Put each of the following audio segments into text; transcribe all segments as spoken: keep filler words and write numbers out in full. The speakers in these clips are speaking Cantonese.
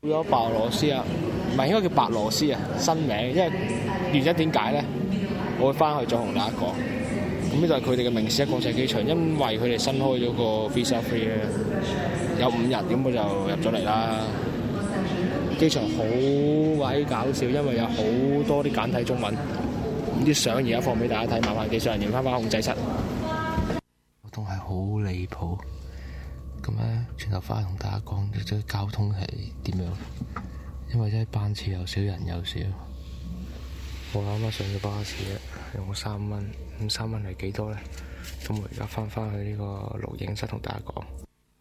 咗白俄羅斯啊，唔係應該叫白羅斯啊，新名，因為原因點解咧？我會翻去再同大家講。咁呢度係佢哋嘅明斯克國際機場，因為佢哋新開咗個 visa free 咧，有五日，咁我就入咗嚟啦。機場好鬼搞笑，因為有好多啲簡體中文，啲相而家放俾大家睇，麻煩技術人員翻返控制室。交通係好離譜，咁咧轉頭翻去同大家講，即係交通係點樣？因為真係班次又少，人又少。我啱啱上咗巴士咧，用咗三蚊，咁三蚊係幾多咧？咁我而家翻返去呢個錄影室同大家講。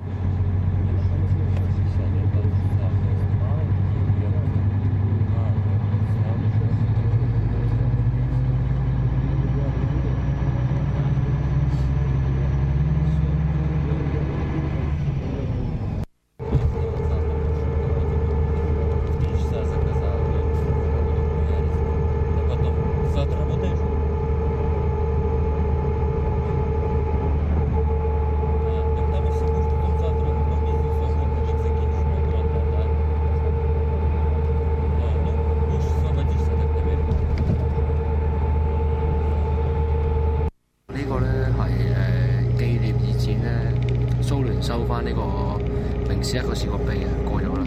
收翻呢個明斯克個時國碑啊，過咗啦。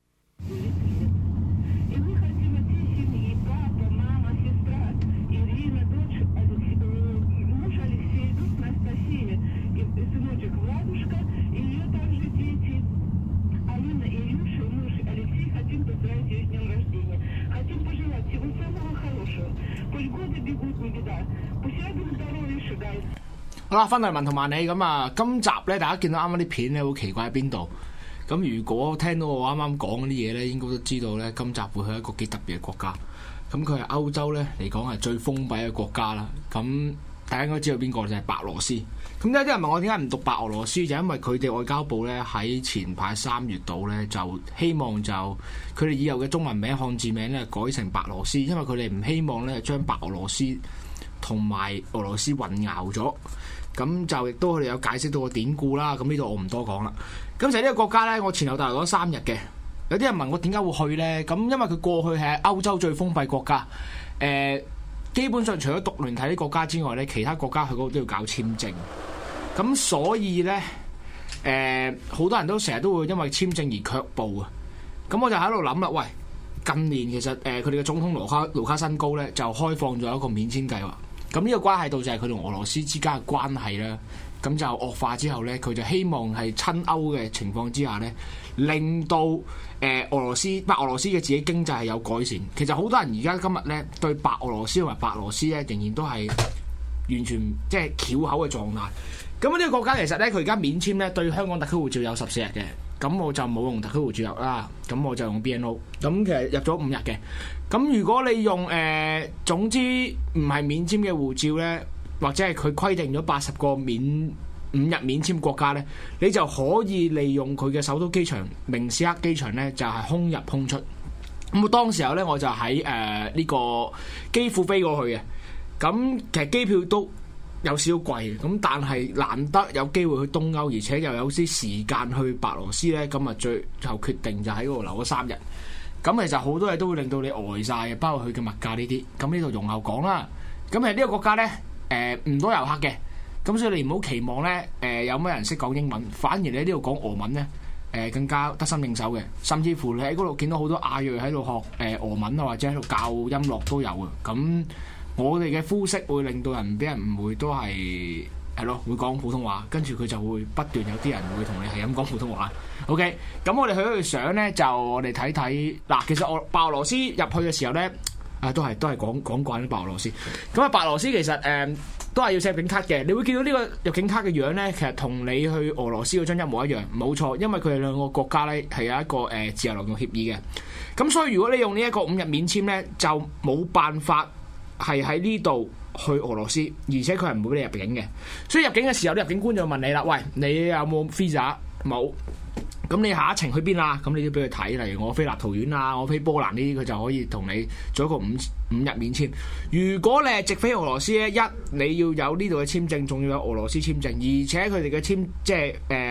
好啦，翻嚟文圖萬里咁啊！今集咧，大家見到啱啱啲片咧，好奇怪喺邊度？咁如果聽到我啱啱講嗰啲嘢咧，應該都知道咧，今集會去一個幾特別嘅國家。咁佢係歐洲咧嚟講係最封閉嘅國家啦。咁大家應該知道邊個就係白羅斯。咁有啲人問我點解唔讀白俄羅斯，就因為佢哋外交部咧喺前排三月度咧就希望就佢哋以後嘅中文名漢字名咧改成白羅斯，因為佢哋唔希望咧將白俄羅斯同埋俄羅斯混淆咗。咁就亦都佢哋有解釋到個典故啦。咁呢度我唔多講啦。咁就係呢個國家呢，我前後大概講咗三日嘅。有啲人問我點解會去呢？咁因為佢過去係歐洲最封閉國家。誒、呃，基本上除咗獨聯體啲國家之外呢，其他國家去嗰度都要搞簽證。咁所以呢，誒、呃，好多人都成日都會因為簽證而卻步啊。咁我就喺度諗啦，喂，近年其實誒佢哋嘅總統盧卡盧卡申高呢，就開放咗一個免簽計劃。咁呢個關係到就係佢同俄羅斯之間嘅關係啦，咁就惡化之後呢，佢就希望係親歐嘅情況之下呢，令到誒、呃、俄羅斯白俄羅斯嘅自己經濟係有改善。其實好多人而家今日呢，對白俄羅斯同埋白羅斯呢，仍然都係完全即係翹口嘅狀態。咁呢個國家其實呢，佢而家免簽呢，對香港特區護照有十四日嘅。咁我就冇用特區護照入啦，咁我就用 B N O。咁其實入咗五日嘅。咁如果你用誒、呃，總之唔係免簽嘅護照呢，或者係佢規定咗八十個免五日免簽國家呢，你就可以利用佢嘅首都機場明斯克機場呢，就係、是、空入空出。咁我當時候呢，我就喺誒呢個基輔飛過去嘅。咁其實機票都有少少貴，咁但係難得有機會去東歐，而且又有啲時間去白羅斯呢。咁啊最後決定就喺嗰度留咗三日。咁其實好多嘢都會令到你呆晒嘅，包括佢嘅物價呢啲。咁呢度容後講啦。咁誒呢個國家呢，誒、呃、唔多遊客嘅，咁所以你唔好期望呢，誒、呃、有乜人識講英文，反而你呢度講俄文呢，誒、呃、更加得心應手嘅。甚至乎你喺嗰度見到好多亞裔喺度學誒俄文啊，或者喺度教音樂都有嘅。咁我哋嘅膚色會令到人俾人誤會都係係咯，會講普通話，跟住佢就會不斷有啲人會同你係咁講普通話。OK，咁我哋去咗去相咧，就我哋睇睇嗱。其實我白俄羅斯入去嘅時候咧，啊都係都係講講慣啲白俄羅斯。咁啊，白俄羅斯其實誒、呃、都係要寫入境卡嘅。你會見到呢個入境卡嘅樣咧，其實同你去俄羅斯嗰張一模一樣，冇錯。因為佢哋兩個國家咧係有一個誒、呃、自由流動協議嘅。咁所以如果你用呢一個五日免簽咧，就冇辦法係喺呢度去俄羅斯，而且佢係唔會俾你入境嘅。所以入境嘅時候，啲入境官就問你啦：喂，你有冇 visa？ 冇。咁你下一程去邊啊？咁你都俾佢睇，例如我飛立陶宛啊，我飛波蘭呢啲，佢就可以同你做一個五五日免簽。如果你係直飛俄羅斯咧，一你要有呢度嘅簽證，仲要有俄羅斯簽證，而且佢哋嘅簽即係誒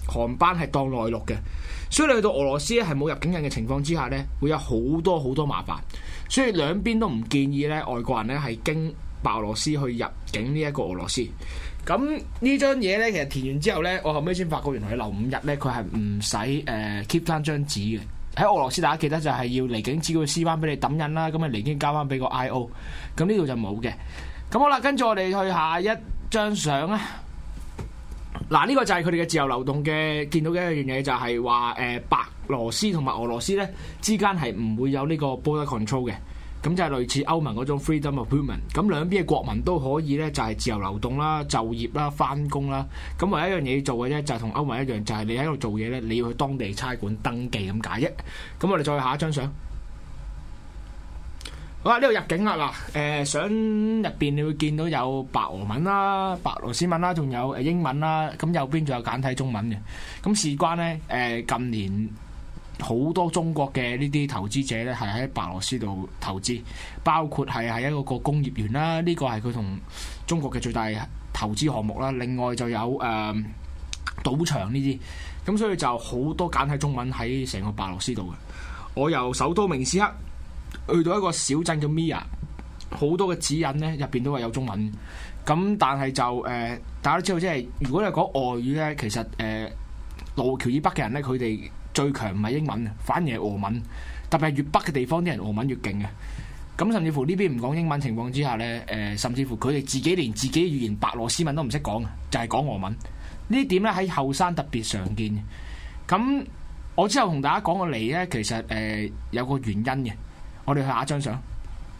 航班係當內陸嘅，所以你去到俄羅斯咧係冇入境人嘅情況之下咧，會有好多好多麻煩，所以兩邊都唔建議咧外國人咧係經白俄羅斯去入境呢一個俄羅斯。咁呢張嘢咧，其實填完之後咧，我後尾先發覺原來你留五日咧，佢係唔使誒 keep 翻張紙嘅。喺俄羅斯大家記得就係要離境資料撕翻俾你抌印啦，咁啊離境交翻俾個 I O。咁呢度就冇嘅。咁好啦，跟住我哋去下一張相啊。嗱，呢個就係佢哋嘅自由流動嘅，見到嘅一樣嘢就係話誒白羅斯同埋俄羅斯咧之間係唔會有呢個 border control 嘅，咁就係類似歐盟嗰種 freedom of movement。咁兩邊嘅國民都可以咧就係自由流動啦、就業啦、翻工啦。咁唯一一樣嘢要做嘅啫，就係同歐盟一樣，就係、是、你喺度做嘢咧，你要去當地差館登記咁解啫。咁我哋再下一張相。好啦，呢度入境啦嗱，誒相入邊你會見到有白俄文啦、白羅斯文啦，仲有誒英文啦，咁右邊仲有簡體中文嘅。咁事關咧，誒近年好多中國嘅呢啲投資者咧係喺白羅斯度投資，包括係係一個個工業園啦，呢、這個係佢同中國嘅最大投資項目啦。另外就有誒、呃、賭場呢啲，咁所以就好多簡體中文喺成個白羅斯度嘅。我由首都明斯克去到一個小鎮叫 Mia， 好多嘅指引咧入邊都係有中文。咁但係就誒、呃，大家都知道，即係如果你講外語咧，其實誒羅湖橋以北嘅人咧，佢哋最強唔係英文，反而係俄文。特別係越北嘅地方啲人俄文越勁嘅。咁甚至乎呢邊唔講英文情況之下咧，誒、呃、甚至乎佢哋自己連自己語言白羅斯文都唔識講，就係、是、講俄文。呢點咧喺後生特別常見嘅。咁我之後同大家講個嚟咧，其實誒、呃、有個原因嘅。我哋去下一張相。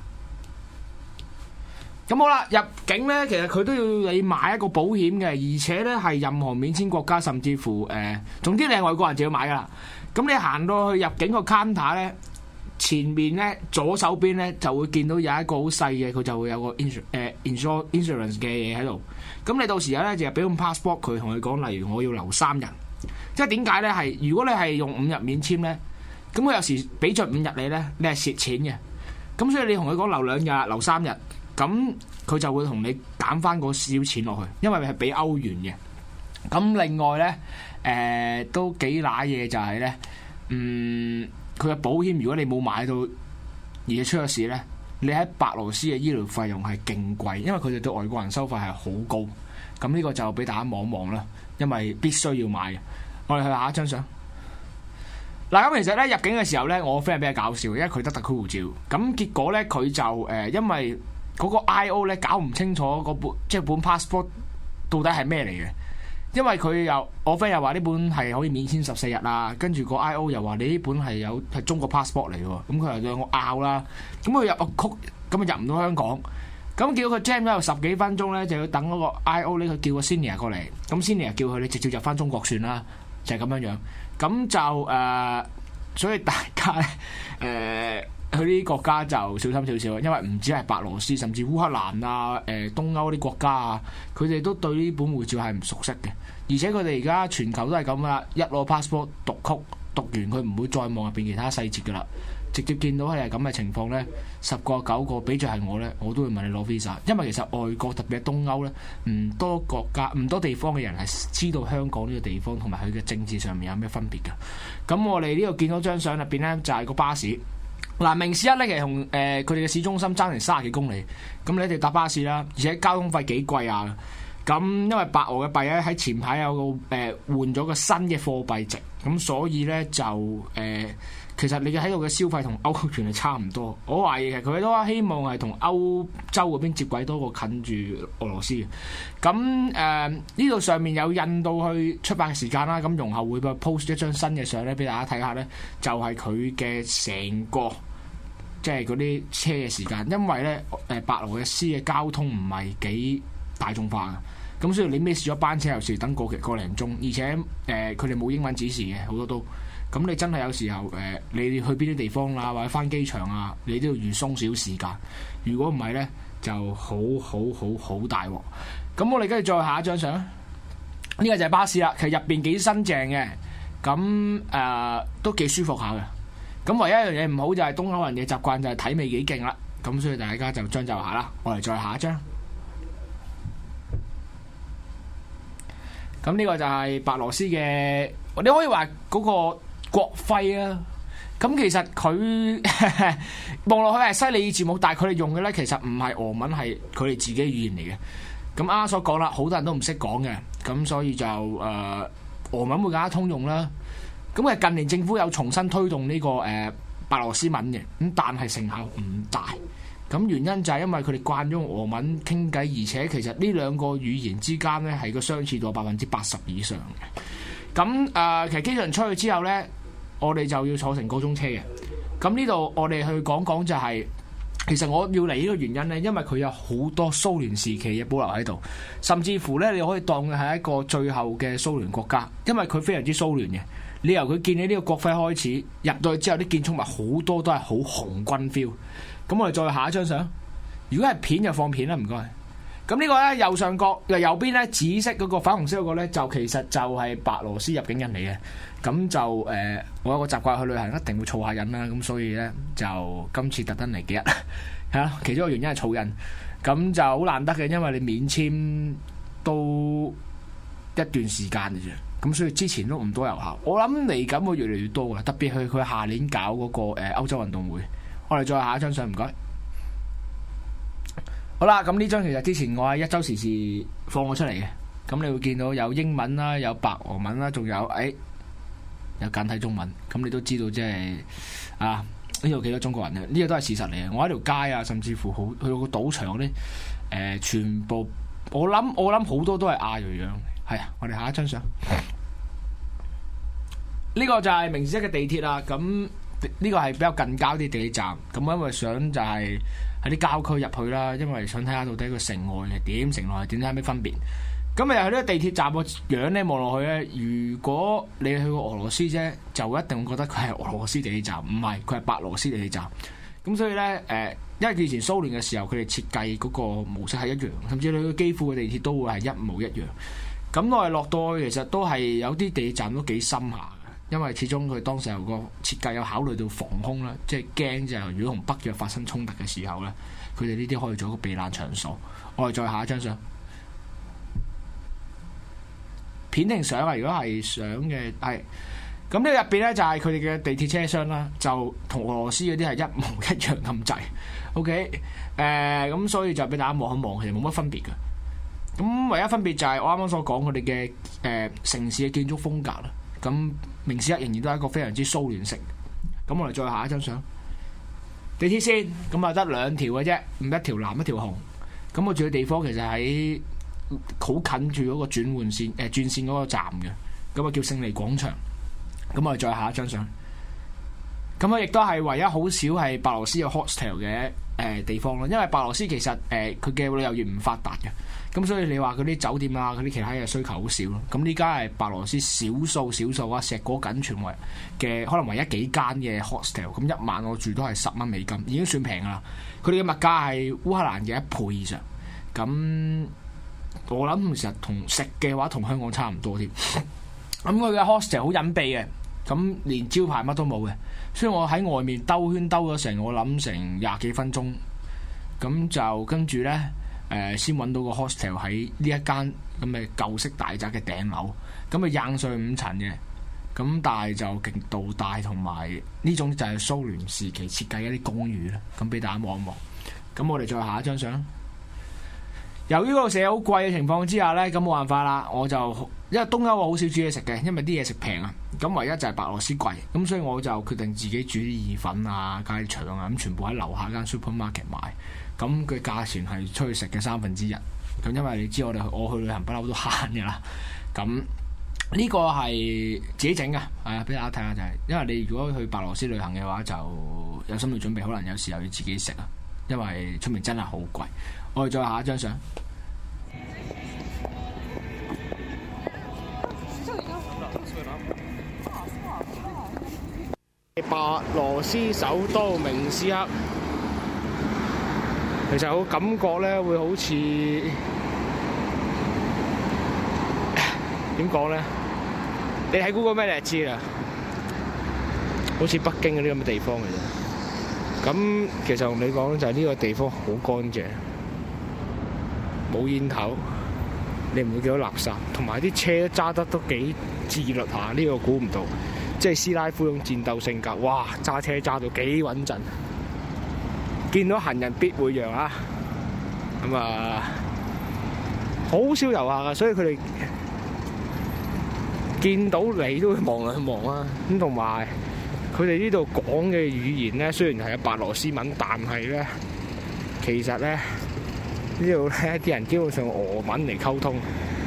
咁好啦，入境咧，其實佢都要你買一個保險嘅，而且咧係任何免簽國家，甚至乎誒、呃，總之你係外國人就要買噶啦。咁你行到去入境個 counter 咧，前面咧左手邊咧就會見到有一個好細嘅，佢就會有個 insur 誒 insur insurance 嘅嘢喺度。咁你到時咧就俾個 passport 佢，同佢講，例如我要留三日。即係點解咧？係如果你係用五日免簽咧，咁佢有時俾咗五日你咧，你係蝕錢嘅。咁所以你同佢講留兩日、留三日，咁佢就會同你減翻個少錢落去，因為係俾歐元嘅。咁另外咧，誒、呃、都幾揦嘢就係、是、咧，嗯，佢嘅保險如果你冇買到而且出咗事咧，你喺白羅斯嘅醫療費用係勁貴，因為佢哋對外國人收費係好高。咁呢個就俾大家望望啦，因為必須要買嘅。我哋去下一張相。嗱，咁其實咧入境嘅時候咧，我 friend 係比較搞笑，因為佢得特區護照。咁結果咧佢就誒、呃，因為嗰個 I O 咧搞唔清楚嗰本即係本 passport 到底係咩嚟嘅。因為佢又我 friend 又話呢本係可以免簽十四日啦，跟住個 I O 又話你呢本係有係中國 passport 嚟嘅喎。咁佢又兩個拗啦，咁佢入個曲咁啊入唔到香港。咁叫佢 jam 咗十幾分鐘咧，就要等嗰個 I O 呢，佢叫個 senior 過嚟。咁 senior 叫佢你直接入翻中國算啦，就係、是、咁樣樣。咁就誒、呃，所以大家咧誒、呃、去呢啲國家就小心少少，因為唔止係白羅斯，甚至烏克蘭啊、誒、呃、東歐啲國家啊，佢哋都對呢本護照係唔熟悉嘅。而且佢哋而家全球都係咁啦，一攞 passport 讀曲讀完，佢唔會再望入邊其他細節噶啦。直接見到係咁嘅情況呢，十個九個比著係我呢，我都會問你攞 visa，因為其實外國特別係東歐呢，唔多國家唔多地方嘅人係知道香港呢個地方同埋佢嘅政治上面有咩分別嘅。咁我哋呢度見到張相入邊呢，就係、是、個巴士。嗱，明斯克呢，其實同誒佢哋嘅市中心爭成三十幾公里，咁你哋搭巴士啦，而且交通費幾貴啊。咁因為白俄嘅幣咧喺前排有個誒、呃、換咗個新嘅貨幣值，咁所以呢，就誒。呃其實你嘅喺度嘅消費同歐元係差唔多，我懷疑其實佢都希望係同歐洲嗰邊接軌多過近住俄羅斯嘅。咁誒呢度上面有印到去出發嘅時間啦，咁容後會 post 一張新嘅相咧俾大家睇下咧，就係佢嘅成個即係嗰啲車嘅時間，因為咧誒白羅斯嘅交通唔係幾大眾化嘅，咁所以你 miss 咗班車有時等個幾個零鐘，而且誒佢哋冇英文指示嘅好多都。咁你真係有時候誒、呃，你去邊啲地方啦，或者返機場啊，你都要預鬆少時間。如果唔係咧，就好好好好大鑊。咁我哋跟住再下一張相，呢、這個就係巴士啦。其實入邊幾新淨嘅，咁誒、呃、都幾舒服下嘅。咁唯一一樣嘢唔好就係東歐人嘅習慣就係睇味幾勁啦。咁所以大家就將就下啦。我哋再下一張。 咁呢個就係白羅斯嘅，你可以話嗰個國徽啊。咁其實佢望落去係西里爾字母，但係佢哋用嘅咧其實唔係俄文，係佢哋自己語言嚟嘅。咁啱啱所講啦，好多人都唔識講嘅，咁所以就誒、呃、俄文會更加通用啦。咁啊近年政府有重新推動呢、這個誒、呃、白羅斯文嘅，咁但係成效唔大。咁原因就係因為佢哋慣咗用俄文傾偈，而且其實呢兩個語言之間咧係個相似度百分之八十以上嘅。咁誒、呃、其實機場出去之後咧，我哋就要坐成個鐘車嘅。咁呢度我哋去講講就係、是。其實我要嚟呢個原因呢，因為佢有好多蘇聯時期嘅保留喺度，甚至乎呢，你可以當佢係一個最後嘅蘇聯國家，因為佢非常之蘇聯嘅。你由佢建起呢個國徽開始，入到去之後啲建築物好多都係好紅軍 feel。咁我哋再下一張相，如果係片就放片啦，唔該。咁呢個呢，右上角右邊呢，紫色嗰個粉紅色嗰個呢，就其實就係白羅斯入境人嚟嘅。咁就誒、呃，我有個習慣去旅行一定會儲下印啦，咁所以咧就今次特登嚟幾日係啦。其中一個原因係儲印，咁就好難得嘅，因為你免簽都一段時間嘅啫，咁所以之前都唔多遊客。我諗嚟緊會越嚟越多嘅，特別係佢下年搞嗰、那個誒、呃、歐洲運動會。我哋再下一張相，唔該。好啦，咁呢張其實之前我喺一周時事放咗出嚟嘅，咁你會見到有英文啦，有白俄文啦，仲有誒。哎有簡體中文，咁你都知道即係啊呢度幾多中國人嘅？呢個都係事實嚟嘅。我喺條街啊，甚至乎好去到個賭場嗰啲誒，全部我諗我諗好多都係亞裔樣。係啊，我哋下一張相，呢個就係明斯克嘅地鐵啦。咁呢個係比較近郊啲地鐵站。咁因為想就係喺啲郊區入去啦，因為想睇下到底個城外係點，城內係點，睇下咩分別。咁啊，喺呢個地鐵站個樣咧望落去咧，如果你去過俄羅斯啫，就一定會覺得佢係俄羅斯地鐵站，唔係佢係白羅斯地鐵站。咁所以咧，誒、呃，因為以前蘇聯嘅時候，佢哋設計嗰個模式係一樣，甚至你去基輔嘅地鐵都會係一模一樣。咁我哋落到去，其實都係有啲地鐵站都幾深下嘅，因為始終佢當時候個設計有考慮到防空啦，即係驚就係如果同北約發生衝突嘅時候咧，佢哋呢啲可以做一個避難場所。我哋再下一張相。片定相啊？如果係相嘅，係咁呢個入邊咧就係佢哋嘅地鐵車廂啦，就同俄羅斯嗰啲係一模一樣咁滯。OK，誒、呃、咁所以就俾大家望一望，其實冇乜分別嘅。咁唯一分別就係我啱啱所講佢哋嘅誒城市嘅建築風格啦。咁明斯克仍然都係一個非常之蘇聯式。咁我哋再下一張相，地鐵線咁啊得兩條嘅啫，唔一條藍一條紅。咁我住嘅地方其實喺好近住嗰個轉換線誒、呃、轉線嗰個站嘅，咁啊叫勝利廣場。咁我哋再下一張相，咁啊亦都係唯一好少係白羅斯有 hostel 嘅誒、呃、地方咯。因為白羅斯其實誒佢嘅旅遊業唔發達嘅，咁所以你話嗰啲酒店啊嗰啲其他嘅需求好少咯。咁呢家係白羅斯少數少數啊，碩果僅存為嘅可能唯一幾間嘅 hostel。咁一晚我住都係十蚊美金，已經算平噶啦。佢哋嘅物價係烏克蘭嘅一倍以上。咁我諗其實同食嘅話同香港差唔多添。咁佢嘅 hostel 好隱蔽嘅，咁連招牌乜都冇嘅，所以我喺外面兜圈兜咗成我諗成廿幾分鐘，咁就跟住呢，誒、呃、先揾到個 hostel 喺呢一間咁嘅舊式大宅嘅頂樓，咁啊硬上五層嘅，咁但係就極度大，同埋呢種就係蘇聯時期設計一啲公寓啦，咁俾大家望一望。咁我哋再下一張相。由於嗰個社好貴嘅情況之下呢，咁冇辦法啦，我就因為東歐我好少煮嘢食嘅，因為啲嘢食平啊，咁唯一就係白羅斯貴，咁所以我就決定自己煮啲意粉啊、加啲腸啊，咁全部喺樓下間 supermarket 買，咁佢價錢係出去食嘅三分之一，咁因為你知我哋我去旅行不嬲都慳嘅啦，咁呢個係自己整㗎，係啊，俾大家睇下就係、是，因為你如果去白羅斯旅行嘅話，就有心理準備，可能有時候要自己食啊，因為出面真係好貴。我哋再下一張相。白羅斯首都明斯克，其實我感覺咧會好似點講咧？你睇 Google 咩你就知啦，好似北京嗰啲咁嘅地方嘅啫。咁其實同你講就係呢個地方好乾淨。冇煙頭， 你唔會見到垃圾，同埋啲車揸得都幾自律下。呢個估唔到，即係斯拉夫種戰鬥性格，哇！揸車揸到幾穩陣，見到行人必會讓啊！咁啊，好少遊客啊，所以佢哋見到你都會望兩望啊。咁同埋佢哋呢度講嘅語言咧，雖然係有白羅斯文，但係咧其實咧呢度咧啲人基本上用俄文嚟溝通。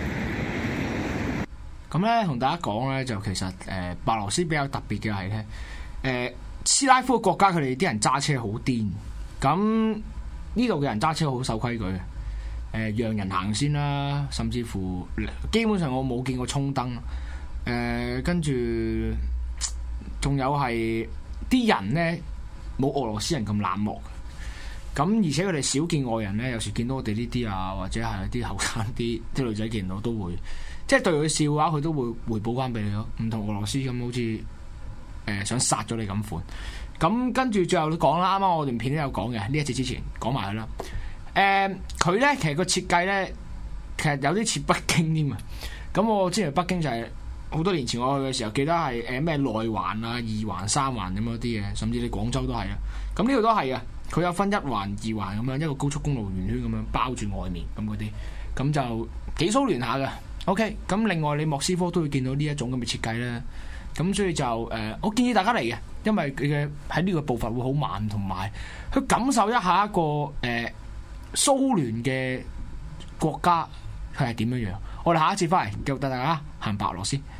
咁咧同大家講咧，就其實誒、呃、白羅斯比較特別嘅係咧，誒、呃、斯拉夫嘅國家佢哋啲人揸車好癲，咁呢度嘅人揸車好守規矩嘅，誒、呃、讓人行先啦，甚至乎基本上我冇見過衝燈，誒、呃、跟住仲有係啲人咧冇俄羅斯人咁冷漠，咁而且佢哋少見外人咧，有時見到我哋呢啲啊，或者係啲後生啲啲女仔見到都會，即係對佢笑嘅話，佢都會回報翻俾你咯，唔同俄羅斯咁好似誒、呃、想殺咗你咁款。咁跟住最後都講啦，啱啱我段片都有講嘅，呢一節之前講埋佢啦。誒、呃，佢咧其實個設計咧，其實有啲似北京添啊。咁我之前北京就係、是、好多年前我去嘅時候，記得係誒咩內環啊、二環、三環咁嗰啲嘅，甚至你廣州都係啊。咁呢度都係啊，佢有分一環、二環咁樣，一個高速公路圓圈咁樣包住外面咁嗰啲，咁就幾蘇聯下嘅。OK，咁另外你莫斯科都會見到呢一種咁嘅設計咧。咁所以就誒、呃，我建議大家嚟嘅，因為佢嘅喺呢個步伐會好慢，同埋去感受一下一個誒、呃、蘇聯嘅國家佢係點樣樣。我哋下一次翻嚟繼續帶大家行白俄羅斯。